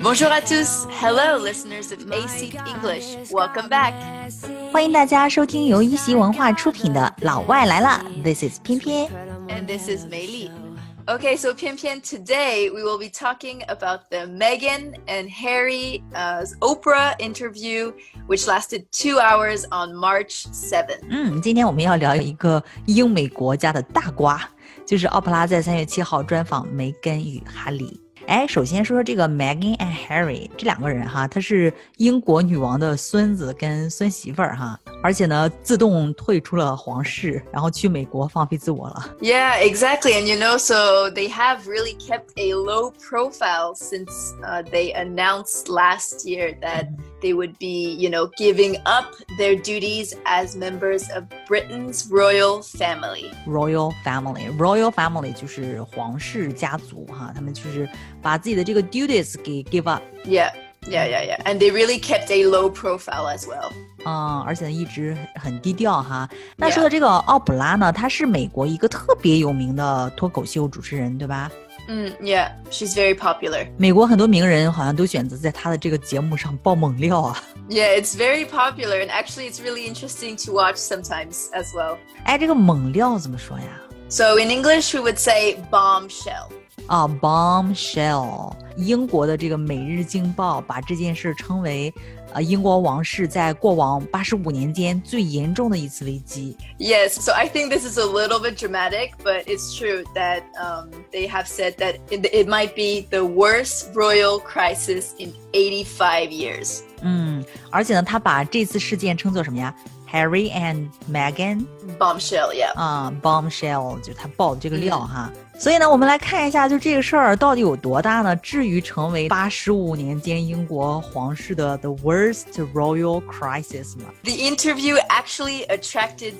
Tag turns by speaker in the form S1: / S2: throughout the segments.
S1: Bonjour à tous. Hello, listeners of AC English. Welcome back.
S2: 欢迎大家收听由一席文化出品的《老外来了》。This is 偏偏
S1: And this is Mei Li. Okay, so Pian Pian, today we will be talking about the Meghan and Harry's Oprah interview, which lasted 2 hours on March 7th.
S2: 今天我们要聊一个英美国家的大瓜，就是奥普拉在3月7号专访梅根与哈利。首先说说这个 Meghan and Harry 这两个人哈，他是英国女王的孙子跟孙媳妇儿哈，而且呢自动退出了皇室，然后去美国放飞自我了。
S1: Yeah, exactly. And so they have really kept a low profile since they announced last year that they would be, giving up their duties as members of Britain's royal family.
S2: Royal family 就是皇室家族哈，他们就是把自己的这个 duties 给 give up.
S1: Yeah. And they really kept a low profile as well.
S2: 而且一直很低调哈。那说的这个奥普拉呢，她是美国一个特别有名的脱口秀主持人，对吧
S1: ？Yeah, she's very popular.
S2: 美国很多名人好像都选择在她的这个节目上爆猛料啊。
S1: Yeah, it's very popular, and actually it's really interesting to watch sometimes as well.
S2: 这个猛料怎么说呀？
S1: So in English we would say bombshell.
S2: Bombshell. 英国的这个《每日经报》把这件事称为英国王室在过往85年间最严重的一次危机。
S1: Yes, so I think this is a little bit dramatic, but it's true that they have said that it might be the worst royal crisis in 85 years.
S2: 而且呢，他把这次事件称作什么呀？Harry and Meghan
S1: bombshell, yeah.
S2: Bombshell 就是他爆的这个料哈。所以呢，我们来看一下，就这个事儿到底有多大呢？至于成为85年间英国皇室的 the worst royal crisis 吗？
S1: The interview actually attracted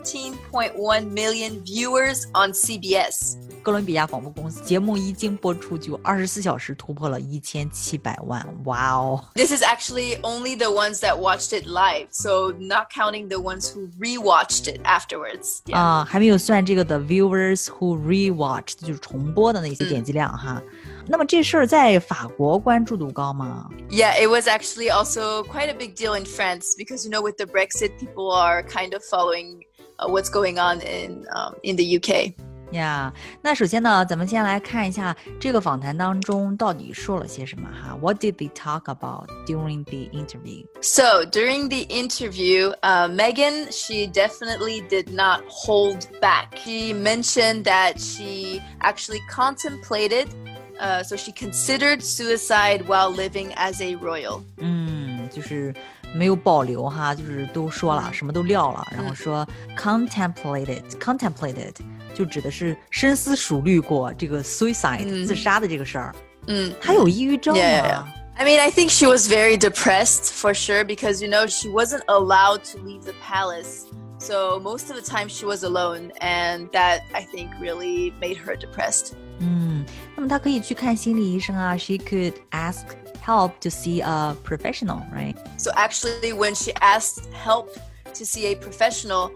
S1: 17.1 million viewers on CBS.
S2: 哥伦比亚广播公司节目一经播出就24小时突破了1700万，哇哦
S1: This is actually only the ones that watched it live, so not counting the ones who rewatched it afterwards. Yeah.
S2: 还没有算这个 the viewers who rewatched 就是重播的那些点击量哈。那么这事儿在法国关注度高吗？
S1: Yeah, it was actually also quite a big deal in France because, with the Brexit, people are kind of following what's going on in the UK.
S2: 那首先呢，咱们先来看一下这个访谈当中到底说了些什么哈。What did they talk about during the interview?
S1: So during the interview, Meghan, she definitely did not hold back. She mentioned that she actually contemplated, so she considered suicide while living as a royal.
S2: 就是没有保留哈，就是都说了，什么都撂了，然后说 contemplated 就指的是深思熟虑过这个 suicide 自杀的这个事儿。她有抑郁症吗？
S1: Yeah. I mean, I think she was very depressed for sure because, she wasn't allowed to leave the palace. So most of the time she was alone, and that, I think, really made her depressed.
S2: 那么她可以去看心理医生啊。She could ask help to see a professional, right?
S1: So actually, when she asked help to see a professional,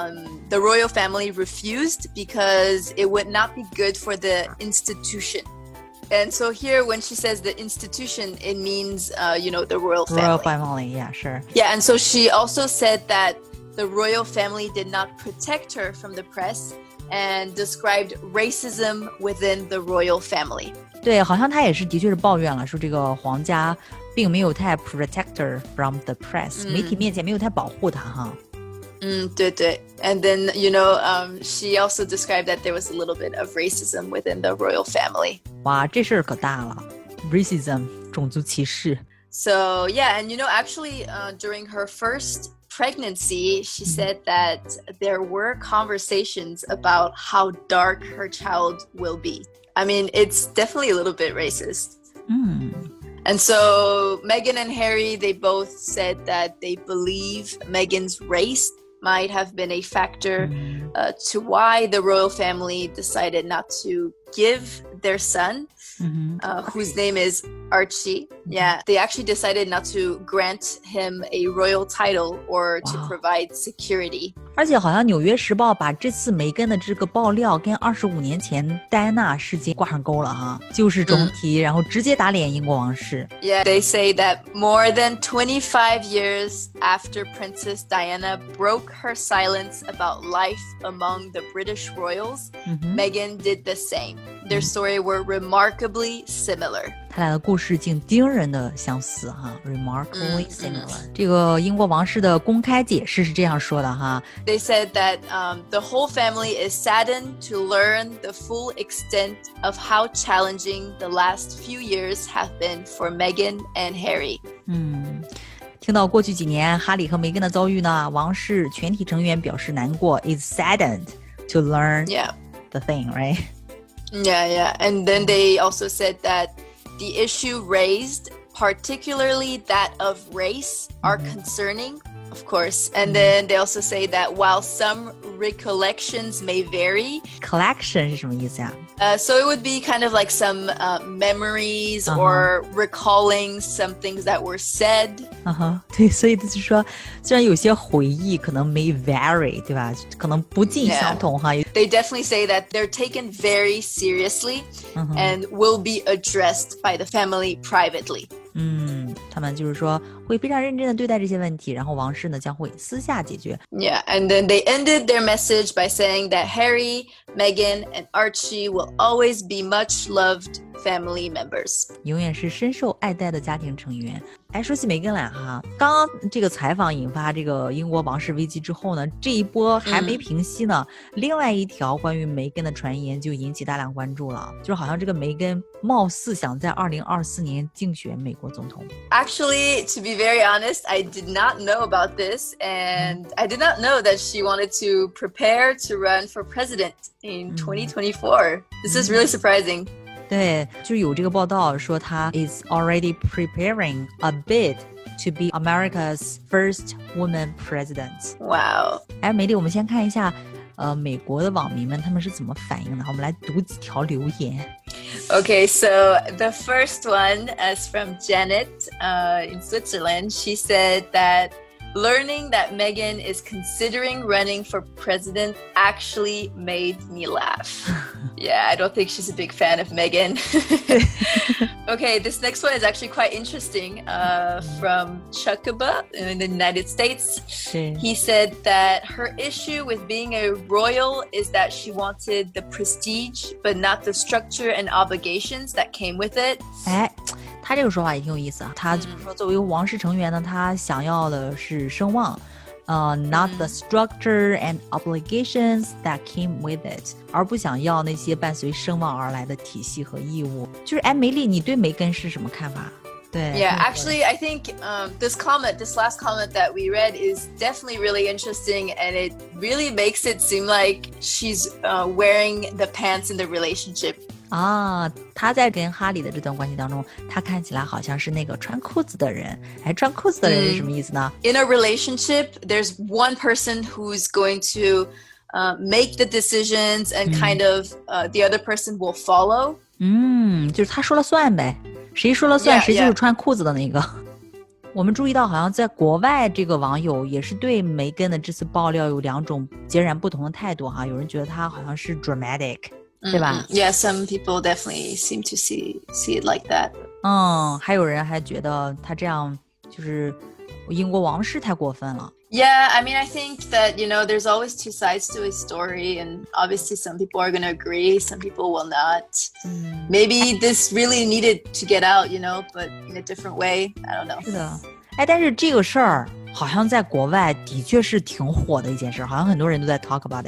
S1: the royal family refused because it would not be good for the institution. And so here, when she says the institution, it means, the royal family.
S2: Royal family, yeah, sure.
S1: Yeah, and so she also said that the royal family did not protect her from the press and described racism within the royal family.
S2: 对，好像她也是的确是抱怨了，说这个皇家并没有太 protect her from the press，媒体面前没有太保护她哈。
S1: 对对。And then, she also described that there was a little bit of racism within the royal family.
S2: 哇，这事儿可大了 ，racism 种族歧视。
S1: So, yeah, and actually, during her first pregnancy, she said that there were conversations about how dark her child will be. I mean, it's definitely a little bit racist. And so Meghan and Harry, they both said that they believe Meghan's race might have been a factor to why the royal family decided not to give their son, whose name is Archie. Yeah, they actually decided not to grant him a royal title or to provide security.
S2: 而且好像《纽约时报》把这次梅根的这个爆料跟25年前戴安娜事件挂上钩了哈，就事重提，然后直接打脸英国王室。
S1: Yeah, they say that more than 25 years after Princess Diana broke her silence about life among the British royals, Meghan did the same. Their story were remarkably similar.
S2: 他俩的故事竟惊人的相似哈 ，remarkably similar。这个英国王室的公开解释是这样说的哈
S1: They said that the whole family is saddened to learn the full extent of how challenging the last few years have been for Meghan and Harry.
S2: 听到过去几年哈里和梅根的遭遇呢，王室全体成员表示难过 is saddened to learn the thing, right?
S1: Yeah. And then they also said that the issue raised, particularly that of race, are concerning, of course. And then they also say that while some recollections may vary.
S2: Collection 是什么意思呀
S1: ？So it would be kind of like some memories or recalling some things that were said.
S2: 对，所以就是说，虽然有些回忆可能 may vary， 对吧？可能不尽相同哈。
S1: They definitely say that they're taken very seriously and will be addressed by the family privately.
S2: 他们就是说会非常认真的对待这些问题，然后王室呢将会私下解决。
S1: Yeah, and then they ended their message by saying that Harry, Meghan, and Archie will always be much loved family members.
S2: 永远是深受爱戴的家庭成员。哎，说起梅根来哈，刚刚这个采访引发这个英国王室危机之后呢，这一波还没平息呢，另外一条关于梅根的传言就引起大量关注了，就是好像这个梅根貌似想在2024年竞选美国总统。
S1: Actually, to be very honest, I did not know about this, and I did not know that she wanted to prepare to run for president in 2024. This is really surprising.
S2: 对，就有这个报道说她 is already preparing a bid to be America's first woman president.
S1: Wow.
S2: 哎，美丽，我们先看一下，美国的网民们他们是怎么反应的？我们来读几条留言。
S1: Okay, so the first one is from Janet in Switzerland. She said that learning that Meghan is considering running for president actually made me laugh. Yeah, I don't think she's a big fan of Meghan. Okay, this next one is actually quite interesting from Chuckaba in the United States. He said that her issue with being a royal is that she wanted the prestige, but not the structure and obligations that came with it.
S2: 哎，他这个说法也挺有意思啊。他就是说，作为王室成员呢，他想要的是声望。not the structure and obligations that came with it， 而不想要那些伴随声望而来的体系和义务。就是哎，梅丽，你对梅根是什么看法？对
S1: Yeah, actually, I think this last comment that we read is definitely really interesting, and it really makes it seem like she's wearing the pants in the relationship.
S2: 啊，他在跟哈里的这段关系当中，他看起来好像是那个穿裤子的人。哎，穿裤子的人是什么意思呢
S1: ？In a relationship, there's one person who's going to make the decisions and kind of the other person will follow.
S2: 就是他说了算呗，谁说了算，谁就是穿裤子的那个。我们注意到，好像在国外，这个网友也是对梅根的这次爆料有两种截然不同的态度哈。有人觉得他好像是 dramatic。对吧
S1: Yeah, some people definitely seem to see it like that.
S2: 还有人还觉得他这样就是英国王室太过分了。
S1: Yeah, I mean, I think that, there's always two sides to a story, and obviously some people are going to agree, some people will not. Maybe this really needed to get out, but in a different way. I don't know.
S2: 是的，哎，但是这个事儿好像在国外的确是挺火的一件事，好像很多人都在 talk about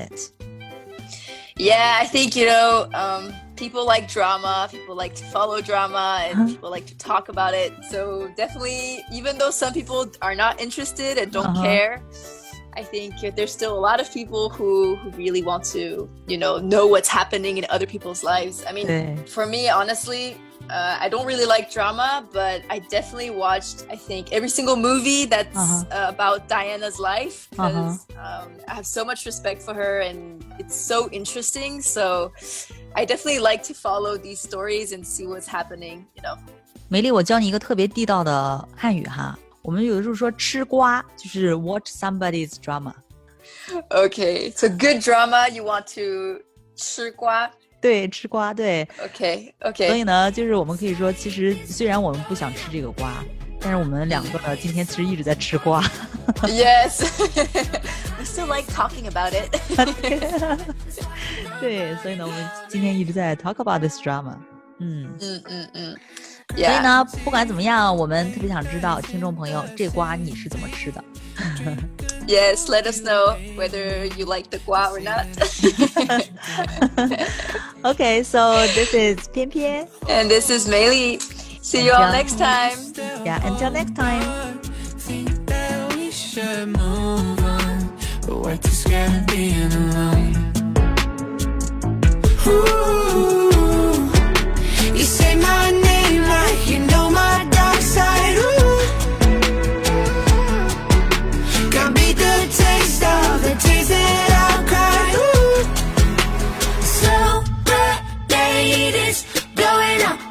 S2: it。Yeah,
S1: I think, people like drama, people like to follow drama, and people like to talk about it. So definitely, even though some people are not interested and don't care, I think there's still a lot of people who really want to, know what's happening in other people's lives. I mean, for me, honestly, I don't really like drama, but I definitely watched, I think, every single movie that's about Diana's life, because I have so much respect for her and it's so interesting. So I definitely like to follow these stories and see what's happening,
S2: 梅丽，我教你一个特别地道的汉语哈。我们有的时候说吃瓜，就是 watch somebody's drama。
S1: Okay, so good drama, you want to 吃瓜？
S2: 对，吃瓜，对。
S1: Okay.
S2: 所以呢，就是我们可以说，其实虽然我们不想吃这个瓜，但是我们两个呢，今天其实一直在吃瓜。
S1: Yes, we still like talking about it.
S2: 对，所以呢，我们今天一直在 talk about this drama。
S1: Yeah.
S2: 所以呢，不管怎么样，我们特别想知道听众朋友，这瓜你是怎么吃的
S1: ？Yes, let us know whether you like the 瓜 or not.
S2: Okay, so this is 偏偏
S1: and this is Meili. See you all next time.
S2: Yeah, until next time.
S3: We should move on, but we're too scared of being alone. Ooh, you say my name like you know my dark side. Ooh, got beat the taste of the tears that I've cried. Ooh, so bad, it's blowing up.